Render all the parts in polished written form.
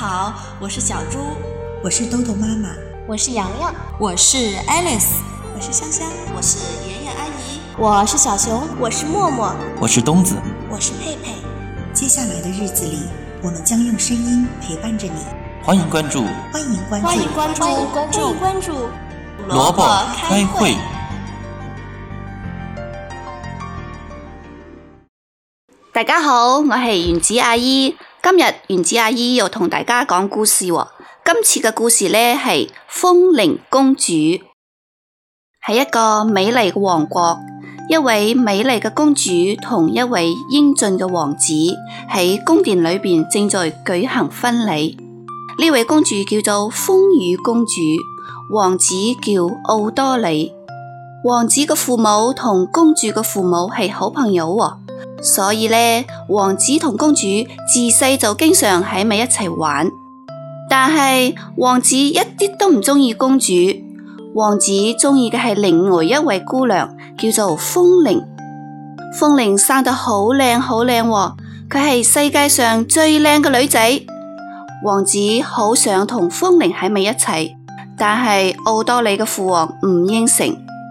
好，我是小猪， 我是豆豆妈妈， 我是洋洋， 我是 Alice， 我是香香， 我是妍妍阿姨， 我是小熊， 我是默默， 我是东子， 我是佩佩。 接下来的日子里，我们将用声音陪伴着你。 欢迎关注， 欢迎关注， 欢迎关注， 欢迎关注， 欢迎关注。 萝卜开会。 大家好，我係原子阿姨。今日原子阿姨又同大家講故事喎。今次嘅故事呢係風鈴公主。喺一個美麗嘅王國，一位美麗嘅公主同一位英俊嘅王子喺宮殿裏邊正在舉行婚禮。呢位公主叫做風雨公主，王子叫奧多里。王子嘅父母同公主嘅父母係好朋友喎。所以呢，王子同公主自細就經常喺埋一齊玩。但係王子一啲都唔鍾意公主，王子鍾意嘅係另外一位姑娘，叫做風鈴。風鈴生得好靚好靚喎，佢係世界上最靚嘅女仔。王子好想同風鈴喺埋一齊，但係奧多里嘅父王唔應承。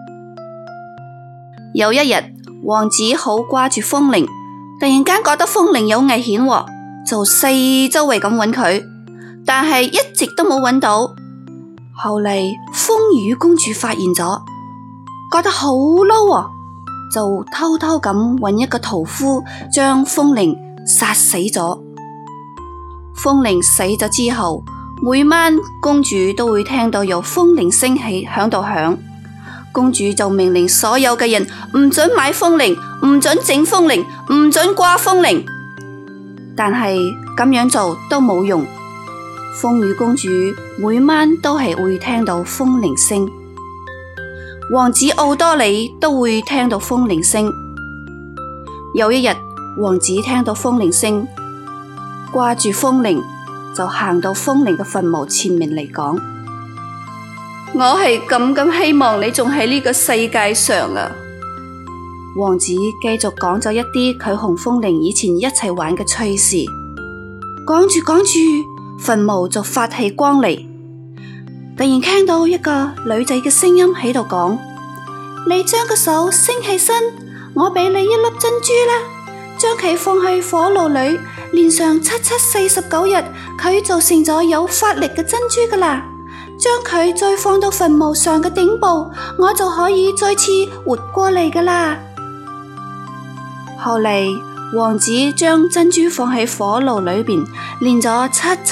有一日，王子好掛住風鈴，突然間覺得風鈴有危險喎，就四周圍咁揾佢，但係一直都冇揾到。後嚟風雨公主發現咗，覺得好嬲喎，就偷偷咁揾一個屠夫將風鈴殺死咗。風鈴死咗之後，每晚公主都會聽到有風鈴聲起響度響。公主就命令所有嘅人唔准買風鈴，唔准整風鈴，唔准掛風鈴。但係咁樣做都冇用，風雨公主每晚都係會聽到風鈴聲，王子奧多里都會聽到風鈴聲。有一日，王子聽到風鈴聲，掛住風鈴，就行到風鈴嘅墳墓前面嚟講：我係咁希望你仲喺呢個世界上啊！王子繼續講咗一啲佢同風鈴以前一齊玩嘅趣事。講住講住，墳墓就發起光嚟。突然聽到一個女仔嘅聲音喺度講：你將個手升起身，我俾你一粒珍珠啦，將佢放去火爐裏，連上749日，佢就成咗有法力嘅珍珠噶啦。將佢再放到墳墓上嘅頂部，我就可以再次活過嚟噶啦。後嚟，王子將珍珠放喺火爐裏邊，煉咗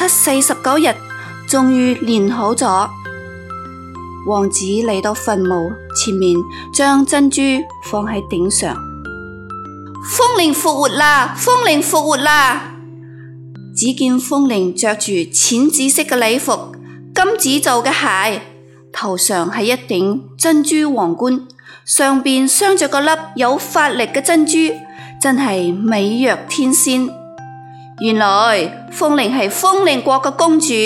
749日，終於煉好咗。王子嚟到墳墓前面，將珍珠放喺頂上。風鈴復活啦！風鈴復活啦！只見風鈴着住淺紫色嘅禮服，金子做嘅鞋，頭上係一頂珍珠皇冠，上邊鑲着個粒有法力嘅珍珠，真係美若天仙。原來風鈴係風鈴國嘅公主，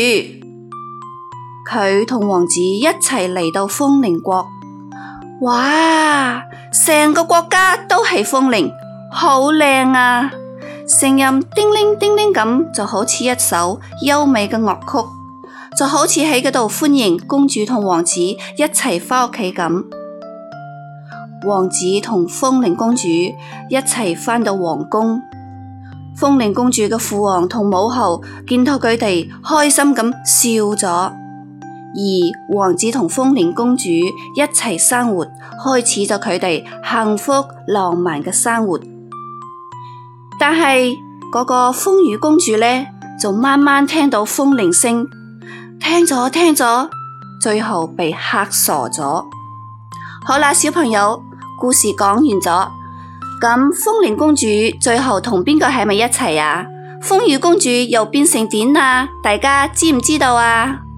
佢同王子一齊嚟到風鈴國。哇！成個國家都係風鈴，好靚啊！聲音叮鈴叮鈴咁，就好似一首優美嘅樂曲。就好似喺嗰度歡迎公主同王子一齊返屋企咁。王子同風鈴公主一齊返到皇宮。風鈴公主嘅父王同母后見到佢哋開心咁笑咗，而王子同風鈴公主一齊生活，開始咗佢哋幸福浪漫嘅生活。但係嗰個風雨公主呢，就慢慢聽到風鈴聲。聽咗，最後被嚇傻咗。好啦，小朋友，故事講完咗。咁風鈴公主最後同邊個喺埋一齊啊？風雨公主又變成點啊？大家知唔知道啊？